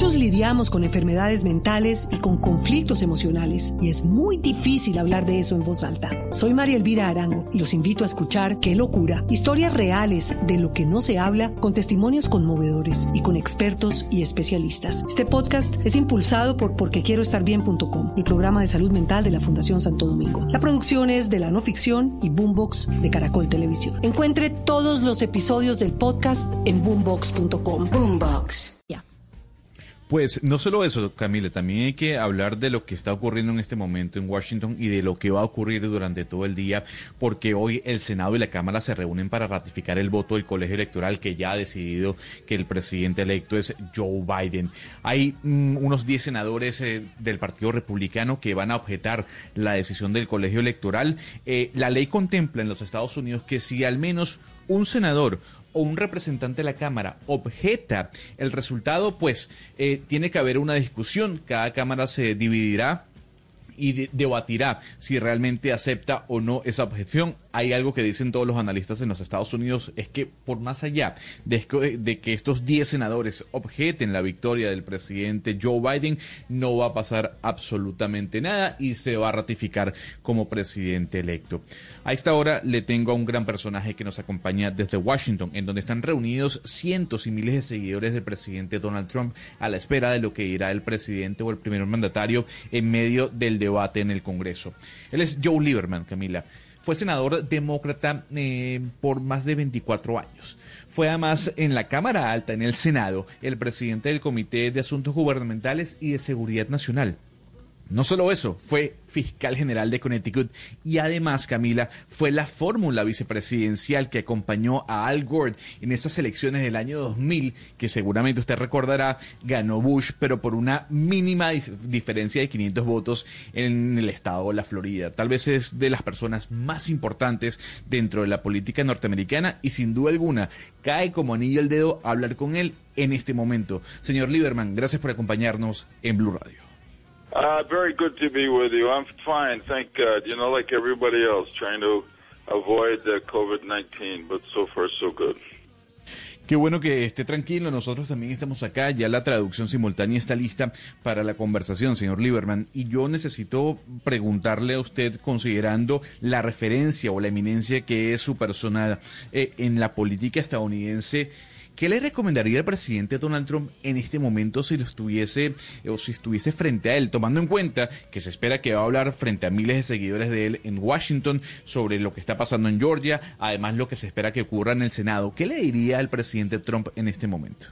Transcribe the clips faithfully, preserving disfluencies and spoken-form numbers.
Muchos lidiamos con enfermedades mentales y con conflictos emocionales, y es muy difícil hablar de eso en voz alta. Soy María Elvira Arango y los invito a escuchar Qué Locura, historias reales de lo que no se habla, con testimonios conmovedores y con expertos y especialistas. Este podcast es impulsado por porque quiero estar bien punto com, el programa de salud mental de la Fundación Santo Domingo. La producción es de La No Ficción y Boombox de Caracol Televisión. Encuentre todos los episodios del podcast en boombox punto com. Boombox. Pues no solo eso, Camila, también hay que hablar de lo que está ocurriendo en este momento en Washington y de lo que va a ocurrir durante todo el día, porque hoy el Senado y la Cámara se reúnen para ratificar el voto del colegio electoral que ya ha decidido que el presidente electo es Joe Biden. Hay mm, unos diez senadores eh, del Partido Republicano que van a objetar la decisión del colegio electoral. Eh, la ley contempla en los Estados Unidos que si al menos un senador o un representante de la Cámara objeta el resultado, pues eh, tiene que haber una discusión. Cada Cámara se dividirá y de- debatirá si realmente acepta o no esa objeción. Hay algo que dicen todos los analistas en los Estados Unidos, es que por más allá de, de que estos diez senadores objeten la victoria del presidente Joe Biden, no va a pasar absolutamente nada y se va a ratificar como presidente electo. A esta hora le tengo a un gran personaje que nos acompaña desde Washington, en donde están reunidos cientos y miles de seguidores del presidente Donald Trump a la espera de lo que dirá el presidente o el primer mandatario en medio del debate en el Congreso. Él es Joe Lieberman, Camila. Fue senador demócrata eh, por más de veinticuatro años. Fue además en la Cámara Alta, en el Senado, el presidente del Comité de Asuntos Gubernamentales y de Seguridad Nacional. No solo eso, fue fiscal general de Connecticut y además, Camila, fue la fórmula vicepresidencial que acompañó a Al Gore en esas elecciones del año dos mil, que seguramente usted recordará, ganó Bush, pero por una mínima dif- diferencia de quinientos votos en el estado de la Florida. Tal vez es de las personas más importantes dentro de la política norteamericana y sin duda alguna cae como anillo al dedo hablar con él en este momento. Señor Lieberman, gracias por acompañarnos en Blue Radio. Uh, very good to be with you. I'm fine, thank God. You know, like everybody else, trying to avoid uh, COVID nineteen, but so far so good. Qué bueno que esté tranquilo, nosotros también estamos acá, ya la traducción simultánea está lista para la conversación, señor Lieberman, y yo necesito preguntarle a usted, considerando la referencia o la eminencia que es su persona eh, en la política estadounidense, ¿qué le recomendaría al presidente Donald Trump en este momento si lo estuviese o si estuviese frente a él, tomando en cuenta que se espera que va a hablar frente a miles de seguidores de él en Washington sobre lo que está pasando en Georgia, además lo que se espera que ocurra en el Senado? ¿Qué le diría al presidente Trump en este momento?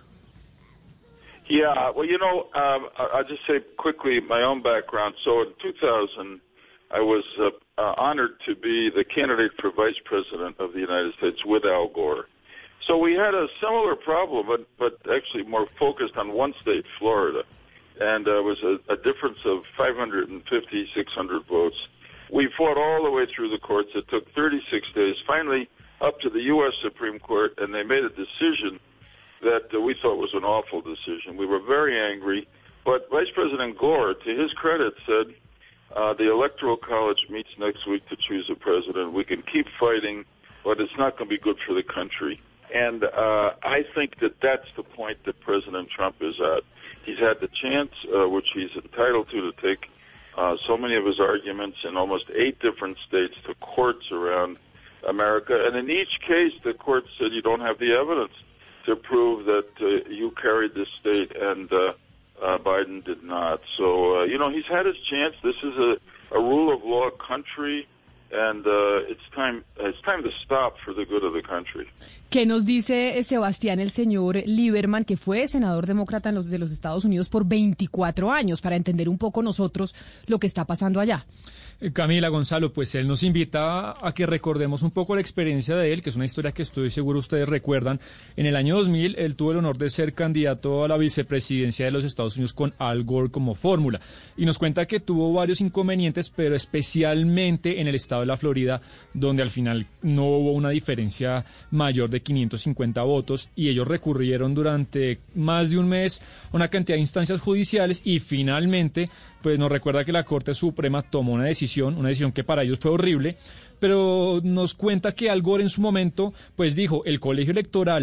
Yeah, well, you know, um, I- I'll just say quickly my own background. So in two thousand, I was uh, uh, honored to be the candidate for vice president of the United States with Al Gore. So we had a similar problem, but, but actually more focused on one state, Florida. And uh, it was a, a difference of five hundred fifty, six hundred votes. We fought all the way through the courts. It took thirty-six days, finally up to the U S Supreme Court, and they made a decision that uh, we thought was an awful decision. We were very angry, but Vice President Gore, to his credit, said, uh, the Electoral College meets next week to choose a president. We can keep fighting, but it's not going to be good for the country. And uh, I think that that's the point that President Trump is at. He's had the chance, uh, which he's entitled to, to take uh, so many of his arguments in almost eight different states to courts around America. And in each case, the court said you don't have the evidence to prove that uh, you carried this state, and uh, uh, Biden did not. So, uh, you know, he's had his chance. This is a, a rule of law country. And uh, it's time, it's time to stop for the good of the country. ¿Qué nos dice eh, Sebastián, el señor Lieberman, que fue senador demócrata en los, de los Estados Unidos por veinticuatro años, para entender un poco nosotros lo que está pasando allá? Camila, Gonzalo, pues él nos invita a que recordemos un poco la experiencia de él, que es una historia que estoy seguro ustedes recuerdan. En el año dos mil, él tuvo el honor de ser candidato a la vicepresidencia de los Estados Unidos con Al Gore como fórmula. Y nos cuenta que tuvo varios inconvenientes, pero especialmente en el estado de la Florida, donde al final no hubo una diferencia mayor de quinientos cincuenta votos, y ellos recurrieron durante más de un mes a una cantidad de instancias judiciales, y finalmente pues nos recuerda que la Corte Suprema tomó una decisión, una decisión que para ellos fue horrible, pero nos cuenta que Al Gore en su momento pues dijo, el colegio electoral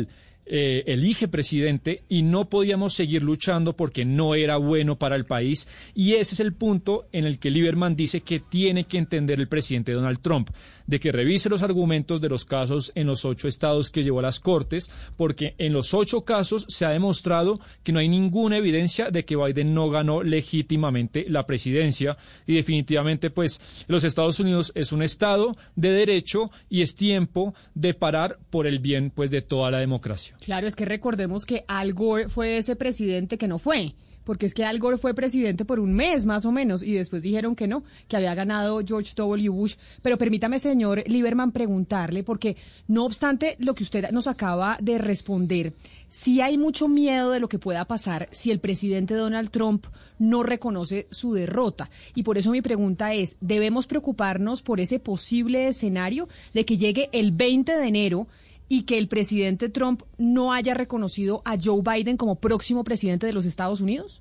eh, elige presidente y no podíamos seguir luchando porque no era bueno para el país. Y ese es el punto en el que Lieberman dice que tiene que entender el presidente Donald Trump, de que revise los argumentos de los casos en los ocho estados que llevó a las Cortes, porque en los ocho casos se ha demostrado que no hay ninguna evidencia de que Biden no ganó legítimamente la presidencia, y definitivamente pues los Estados Unidos es un estado de derecho y es tiempo de parar por el bien pues de toda la democracia. Claro, es que recordemos que Al Gore fue ese presidente que no fue, porque es que Al Gore fue presidente por un mes más o menos y después dijeron que no, que había ganado George W. Bush. Pero permítame, señor Lieberman, preguntarle, porque no obstante lo que usted nos acaba de responder, sí hay mucho miedo de lo que pueda pasar si el presidente Donald Trump no reconoce su derrota. Y por eso mi pregunta es, ¿debemos preocuparnos por ese posible escenario de que llegue el veinte de enero y que el presidente Trump no haya reconocido a Joe Biden como próximo presidente de los Estados Unidos?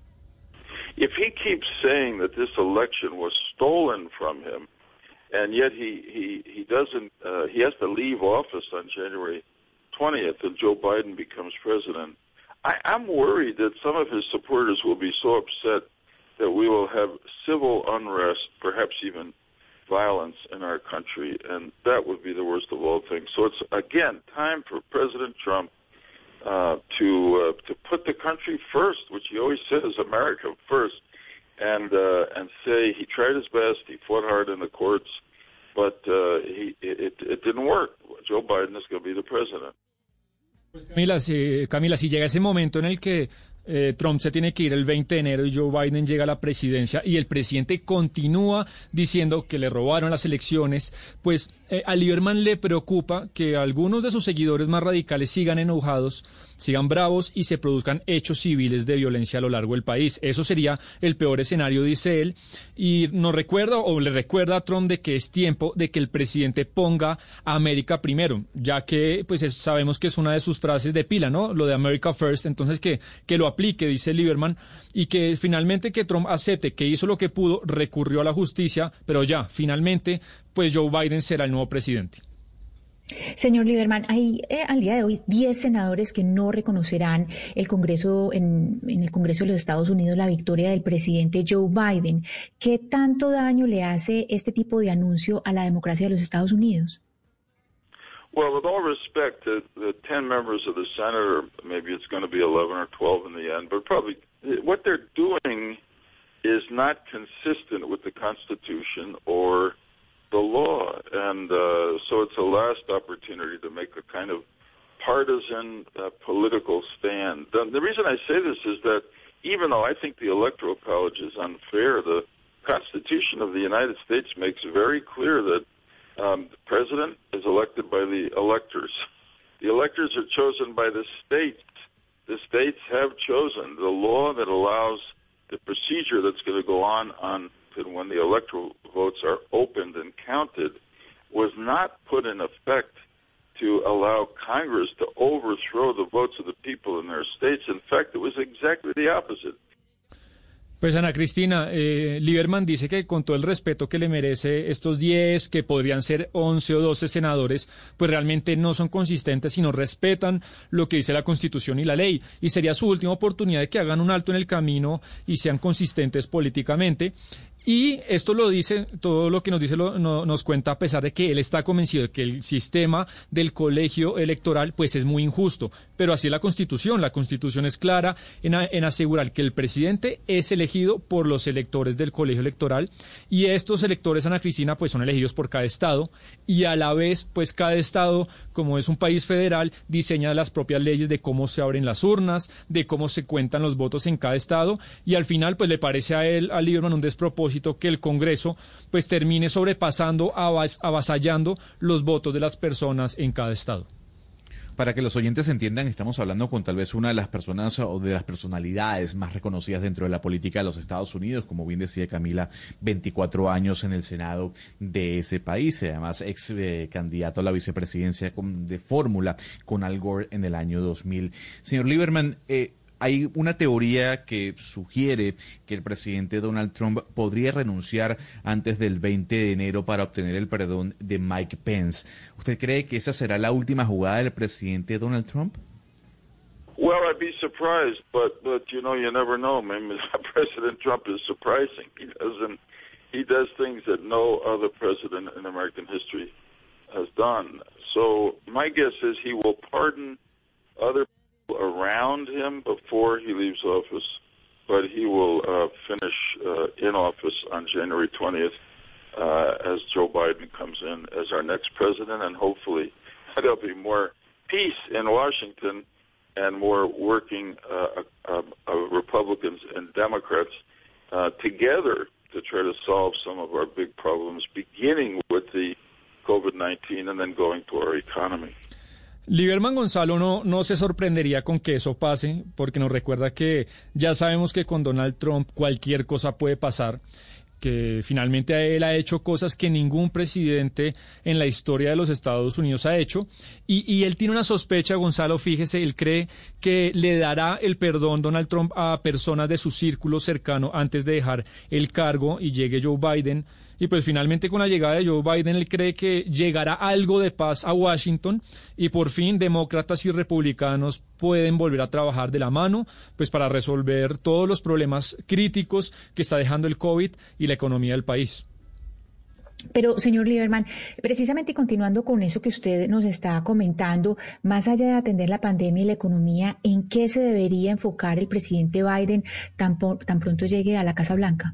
If he keeps saying that this election was stolen from him, and yet he he he doesn't, uh, he has to leave office on January twentieth, and Joe Biden becomes president, I, I'm worried that some of his supporters will be so upset that we will have civil unrest, perhaps even violence in our country, and that would be the worst of all things. So it's, again, time for President Trump uh, to uh, to put the country first, which he always says, America first, and uh, and say he tried his best, he fought hard in the courts, but uh, he it, it didn't work. Joe Biden is going to be the president. Pues Camila, si, Camila, si llega ese momento en el que Eh, Trump se tiene que ir el veinte de enero y Joe Biden llega a la presidencia y el presidente continúa diciendo que le robaron las elecciones, pues eh, a Lieberman le preocupa que algunos de sus seguidores más radicales sigan enojados, sigan bravos y se produzcan hechos civiles de violencia a lo largo del país. Eso sería el peor escenario, dice él, y nos recuerda o le recuerda a Trump de que es tiempo de que el presidente ponga a América primero, ya que pues es, sabemos que es una de sus frases de pila, ¿no? Lo de America First, entonces que, que lo aplique, dice Lieberman, y que finalmente que Trump acepte que hizo lo que pudo, recurrió a la justicia, pero ya, finalmente, pues Joe Biden será el nuevo presidente. Señor Lieberman, hay eh, al día de hoy diez senadores que no reconocerán el Congreso en, en el Congreso de los Estados Unidos la victoria del presidente Joe Biden. ¿Qué tanto daño le hace este tipo de anuncio a la democracia de los Estados Unidos? Well, with all respect to the ten members of the Senate, or maybe it's going to be eleven or twelve in the end, but probably what they're doing is not consistent with the Constitution or the law. And uh, so it's a last opportunity to make a kind of partisan uh, political stand. The, the reason I say this is that even though I think the Electoral College is unfair, the Constitution of the United States makes very clear that Um, the president is elected by the electors. The electors are chosen by the states. The states have chosen the law that allows the procedure that's going to go on on when the electoral votes are opened and counted was not put in effect to allow Congress to overthrow the votes of the people in their states. In fact, it was exactly the opposite. Pues Ana Cristina, eh, Lieberman dice que con todo el respeto que le merece estos diez, que podrían ser once o doce senadores, pues realmente no son consistentes y no respetan lo que dice la Constitución y la ley. Y sería su última oportunidad de que hagan un alto en el camino y sean consistentes políticamente. Y esto lo dice, todo lo que nos dice lo, no, nos cuenta a pesar de que él está convencido de que el sistema del colegio electoral pues es muy injusto. Pero así es la Constitución. La Constitución es clara en, a, en asegurar que el presidente es elegido por los electores del colegio electoral y estos electores, Ana Cristina, pues son elegidos por cada estado y a la vez pues cada estado, como es un país federal, diseña las propias leyes de cómo se abren las urnas, de cómo se cuentan los votos en cada estado y al final pues le parece a él, a Lieberman, un despropósito que el Congreso pues termine sobrepasando, avas, avasallando los votos de las personas en cada estado. Para que los oyentes entiendan, estamos hablando con tal vez una de las personas o de las personalidades más reconocidas dentro de la política de los Estados Unidos, como bien decía Camila, veinticuatro años en el Senado de ese país, además ex eh, candidato a la vicepresidencia con, de fórmula con Al Gore en el año dos mil. Señor Lieberman, eh, hay una teoría que sugiere que el presidente Donald Trump podría renunciar antes del veinte de enero para obtener el perdón de Mike Pence. ¿Usted cree que esa será la última jugada del presidente Donald Trump? Well, I'd be surprised, but but you know, you never know. Maybe President Trump is surprising. He doesn't. He does things that no other president in American history has done. So my guess is he will pardon other people around him before he leaves office, but he will uh, finish uh, in office on January twentieth uh, as Joe Biden comes in as our next president, and hopefully there'll be more peace in Washington and more working uh, uh, uh, Republicans and Democrats uh, together to try to solve some of our big problems, beginning with the COVID nineteen and then going to our economy. Lieberman Gonzalo no, no se sorprendería con que eso pase, porque nos recuerda que ya sabemos que con Donald Trump cualquier cosa puede pasar, que finalmente él ha hecho cosas que ningún presidente en la historia de los Estados Unidos ha hecho, y, y él tiene una sospecha, Gonzalo, fíjese, él cree que le dará el perdón Donald Trump a personas de su círculo cercano antes de dejar el cargo y llegue Joe Biden. Y pues finalmente con la llegada de Joe Biden él cree que llegará algo de paz a Washington y por fin demócratas y republicanos pueden volver a trabajar de la mano pues para resolver todos los problemas críticos que está dejando el COVID y la economía del país. Pero, señor Lieberman, precisamente continuando con eso que usted nos está comentando, más allá de atender la pandemia y la economía, ¿en qué se debería enfocar el presidente Biden tan, tan pronto llegue a la Casa Blanca?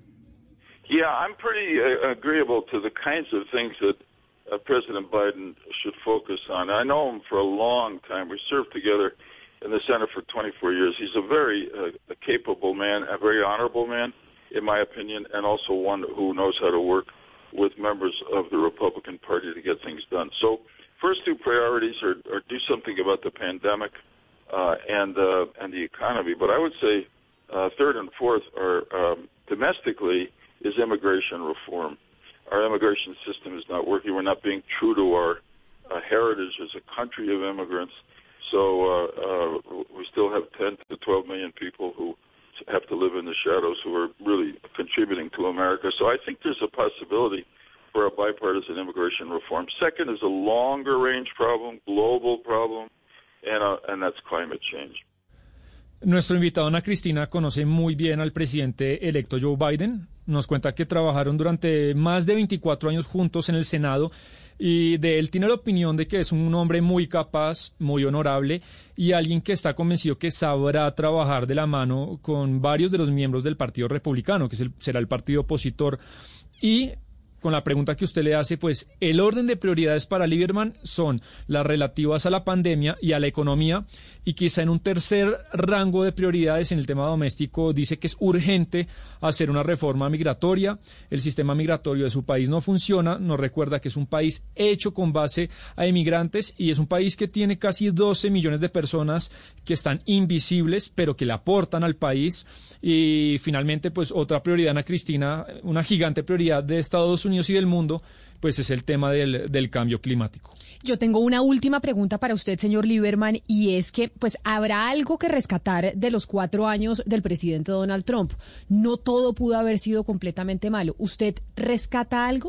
Yeah, I'm pretty uh, agreeable to the kinds of things that uh, President Biden should focus on. I know him for a long time. We served together in the Senate for twenty-four years. He's a very uh, a capable man, a very honorable man, in my opinion, and also one who knows how to work with members of the Republican Party to get things done. So first two priorities are, are do something about the pandemic uh, and uh, and the economy. But I would say uh, third and fourth are um, domestically is immigration reform. Our immigration system is not working. We're not being true to our uh, heritage as a country of immigrants. So uh, uh, we still have ten to twelve million people who have to live in the shadows who are really contributing to America. So I think there's a possibility for a bipartisan immigration reform. Second is a longer range problem, global problem, and, uh, and that's climate change. Nuestro invitado, Ana Cristina, conoce muy bien al presidente electo Joe Biden. Nos cuenta que trabajaron durante más de veinticuatro años juntos en el Senado y de él tiene la opinión de que es un hombre muy capaz, muy honorable y alguien que está convencido que sabrá trabajar de la mano con varios de los miembros del Partido Republicano, que es el, será el partido opositor. Y con la pregunta que usted le hace, pues el orden de prioridades para Lieberman son las relativas a la pandemia y a la economía, y quizá en un tercer rango de prioridades en el tema doméstico dice que es urgente hacer una reforma migratoria. El sistema migratorio de su país no funciona, nos recuerda que es un país hecho con base a inmigrantes y es un país que tiene casi doce millones de personas que están invisibles, pero que le aportan al país. Y finalmente, pues otra prioridad, Ana Cristina, una gigante prioridad de Estados Unidos y del mundo, pues es el tema del, del cambio climático. Yo tengo una última pregunta para usted, señor Lieberman, y es que pues habrá algo que rescatar de los cuatro años del presidente Donald Trump. No todo pudo haber sido completamente malo. ¿Usted rescata algo?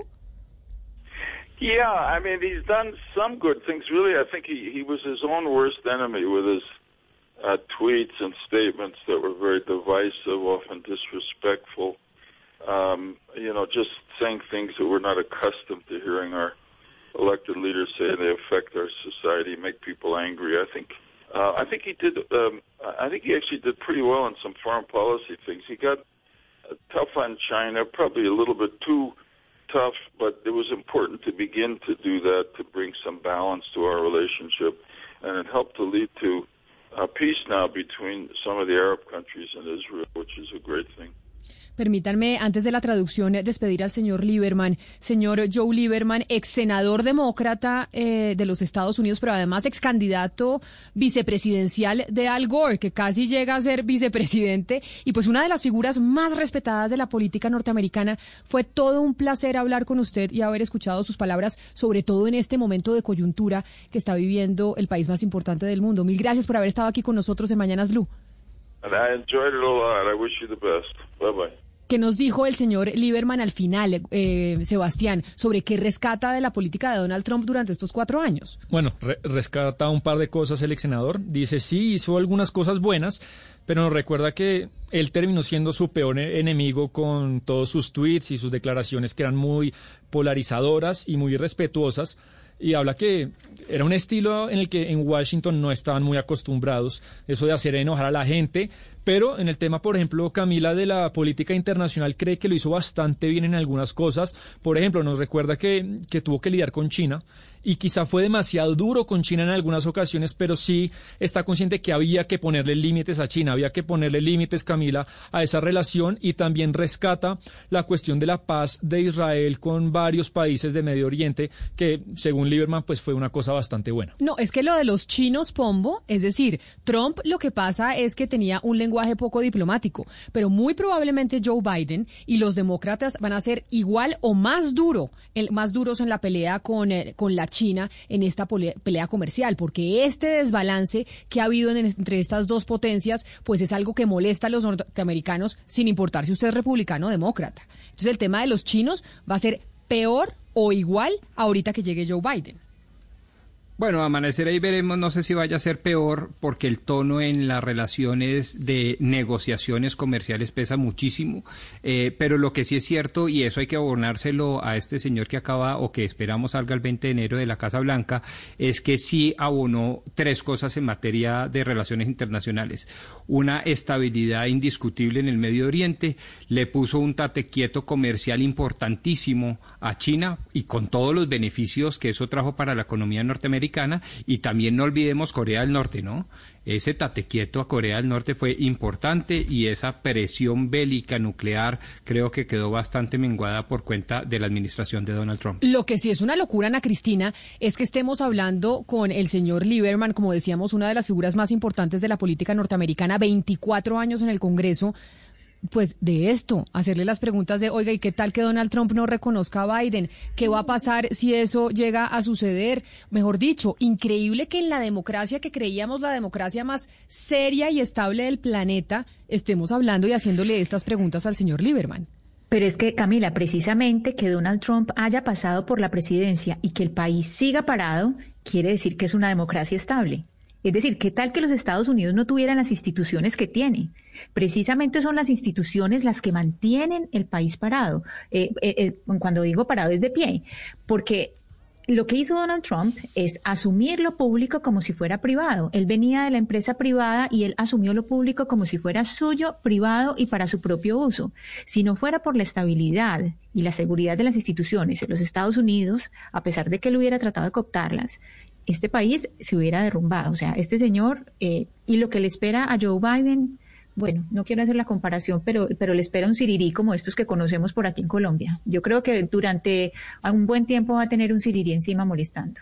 Yeah, I mean, he's done some good things. Really, I think he, he was his own worst enemy with his uh, tweets and statements that were very divisive, often disrespectful. Um, you know, just saying things that we're not accustomed to hearing our elected leaders say. They affect our society, make people angry. I think, uh, I think he did. Um, I think he actually did pretty well on some foreign policy things. He got uh, tough on China, probably a little bit too tough, but it was important to begin to do that to bring some balance to our relationship, and it helped to lead to uh, peace now between some of the Arab countries and Israel, which is a great thing. Permítanme, antes de la traducción, despedir al señor Lieberman. Señor Joe Lieberman, ex senador demócrata eh, de los Estados Unidos, pero además ex candidato vicepresidencial de Al Gore, que casi llega a ser vicepresidente, y pues una de las figuras más respetadas de la política norteamericana. Fue todo un placer hablar con usted y haber escuchado sus palabras, sobre todo en este momento de coyuntura que está viviendo el país más importante del mundo. Mil gracias por haber estado aquí con nosotros en Mañanas Blue. And I enjoyed it a lot. I wish you the best. Bye-bye. ¿Qué nos dijo el señor Lieberman al final, eh, Sebastián, sobre qué rescata de la política de Donald Trump durante estos cuatro años? Bueno, re- rescata un par de cosas el ex senador. Dice, sí, hizo algunas cosas buenas, pero nos recuerda que él terminó siendo su peor enemigo con todos sus tweets y sus declaraciones que eran muy polarizadoras y muy irrespetuosas. Y habla que era un estilo en el que en Washington no estaban muy acostumbrados, eso de hacer enojar a la gente, pero en el tema, por ejemplo, Camila, de la política internacional, cree que lo hizo bastante bien en algunas cosas. Por ejemplo, nos recuerda que, que tuvo que lidiar con China, y quizá fue demasiado duro con China en algunas ocasiones, pero sí está consciente que había que ponerle límites a China, había que ponerle límites, Camila, a esa relación, y también rescata la cuestión de la paz de Israel con varios países de Medio Oriente, que según Lieberman pues fue una cosa bastante buena. No, es que lo de los chinos, Pombo, es decir, Trump lo que pasa es que tenía un lenguaje poco diplomático, pero muy probablemente Joe Biden y los demócratas van a ser igual o más duro, el, más duros en la pelea con, eh, con la China en esta pelea comercial, porque este desbalance que ha habido en, entre estas dos potencias, pues es algo que molesta a los norteamericanos sin importar si usted es republicano o demócrata. Entonces el tema de los chinos va a ser peor o igual ahorita que llegue Joe Biden. Bueno, amanecer ahí veremos, no sé si vaya a ser peor, porque el tono en las relaciones de negociaciones comerciales pesa muchísimo, eh, pero lo que sí es cierto, y eso hay que abonárselo a este señor que acaba, o que esperamos salga el veinte de enero de la Casa Blanca, es que sí abonó tres cosas en materia de relaciones internacionales. Una estabilidad indiscutible en el Medio Oriente, le puso un tate quieto comercial importantísimo a China, y con todos los beneficios que eso trajo para la economía norteamericana. Y también no olvidemos Corea del Norte, ¿no? Ese tate quieto a Corea del Norte fue importante, y esa presión bélica nuclear creo que quedó bastante menguada por cuenta de la administración de Donald Trump. Lo que sí es una locura, Ana Cristina, es que estemos hablando con el señor Lieberman, como decíamos, una de las figuras más importantes de la política norteamericana, veinticuatro años en el Congreso, pues de esto, hacerle las preguntas de, oiga, ¿y qué tal que Donald Trump no reconozca a Biden? ¿Qué va a pasar si eso llega a suceder? Mejor dicho, increíble que en la democracia que creíamos la democracia más seria y estable del planeta, estemos hablando y haciéndole estas preguntas al señor Lieberman. Pero es que, Camila, precisamente que Donald Trump haya pasado por la presidencia y que el país siga parado, quiere decir que es una democracia estable. Es decir, ¿qué tal que los Estados Unidos no tuvieran las instituciones que tiene? Precisamente son las instituciones las que mantienen el país parado. Eh, eh, eh, cuando digo parado es de pie, porque lo que hizo Donald Trump es asumir lo público como si fuera privado. Él venía de la empresa privada y él asumió lo público como si fuera suyo, privado y para su propio uso. Si no fuera por la estabilidad y la seguridad de las instituciones en los Estados Unidos, a pesar de que él hubiera tratado de cooptarlas, este país se hubiera derrumbado. O sea, este señor eh, y lo que le espera a Joe Biden, bueno, no quiero hacer la comparación, pero, pero le espera un sirirí como estos que conocemos por aquí en Colombia. Yo creo que durante un buen tiempo va a tener un sirirí encima molestando.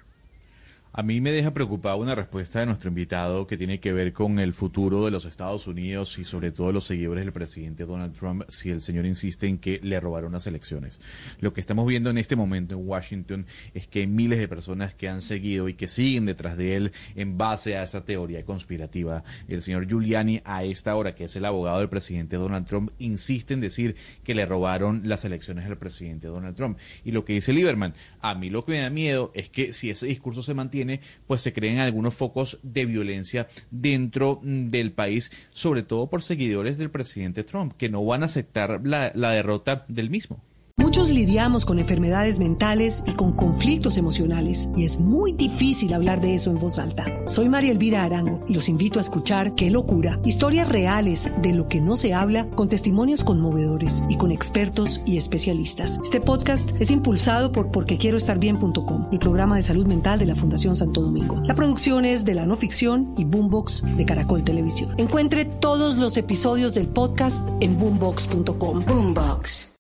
A mí me deja preocupada una respuesta de nuestro invitado que tiene que ver con el futuro de los Estados Unidos y sobre todo los seguidores del presidente Donald Trump, si el señor insiste en que le robaron las elecciones. Lo que estamos viendo en este momento en Washington es que hay miles de personas que han seguido y que siguen detrás de él en base a esa teoría conspirativa. El señor Giuliani, a esta hora, que es el abogado del presidente Donald Trump, insiste en decir que le robaron las elecciones al presidente Donald Trump. Y lo que dice Lieberman, a mí lo que me da miedo es que si ese discurso se mantiene, pues se creen algunos focos de violencia dentro del país, sobre todo por seguidores del presidente Trump, que no van a aceptar la, la derrota del mismo. Muchos lidiamos con enfermedades mentales y con conflictos emocionales, y es muy difícil hablar de eso en voz alta. Soy María Elvira Arango y los invito a escuchar Qué locura, historias reales de lo que no se habla, con testimonios conmovedores y con expertos y especialistas. Este podcast es impulsado por porque quiero estar bien punto com, el programa de salud mental de la Fundación Santo Domingo. La producción es de La No Ficción y Boombox de Caracol Televisión. Encuentre todos los episodios del podcast en boombox punto com. Boombox.